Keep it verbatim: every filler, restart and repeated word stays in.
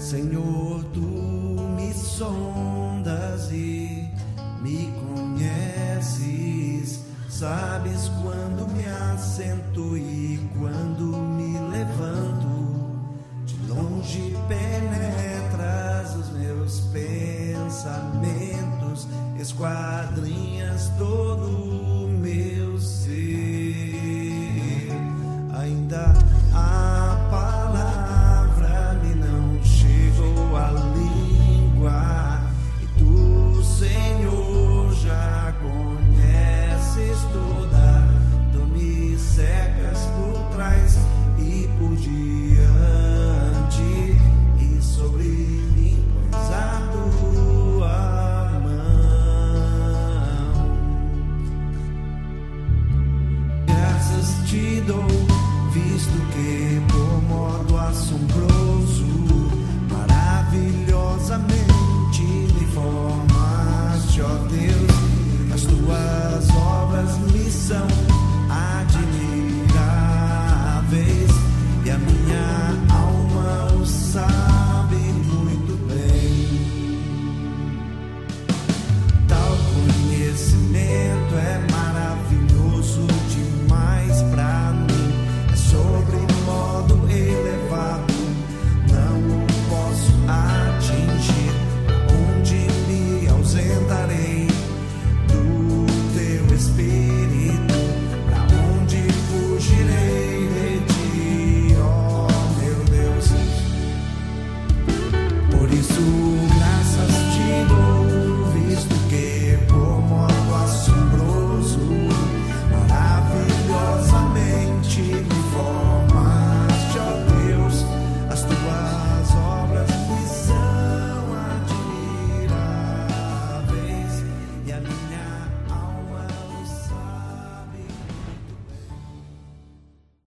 Senhor, tu me sondas e me conheces, sabes quando me assento e quando me levanto, de longe penetras os meus pensamentos, esquadrinhas todo o meu ser. Ainda a palavra me não chegou à língua, e tu, Senhor, já conheces toda. Tu me cercas por trás e por diante, e sobre mim pões a tua mão. Graças te dou, visto que por modo assombroso, maravilhosamente me formaste, ó Deus. As tuas obras me são admiráveis, e a minha alma o sabe muito bem. Tal conhecimento é maravilhoso demais pra mim, é sobre modo elevado, não o posso atingir. Onde me ausentarei do teu Espírito? Pra onde fugirei de ti, ó meu Deus? Por isso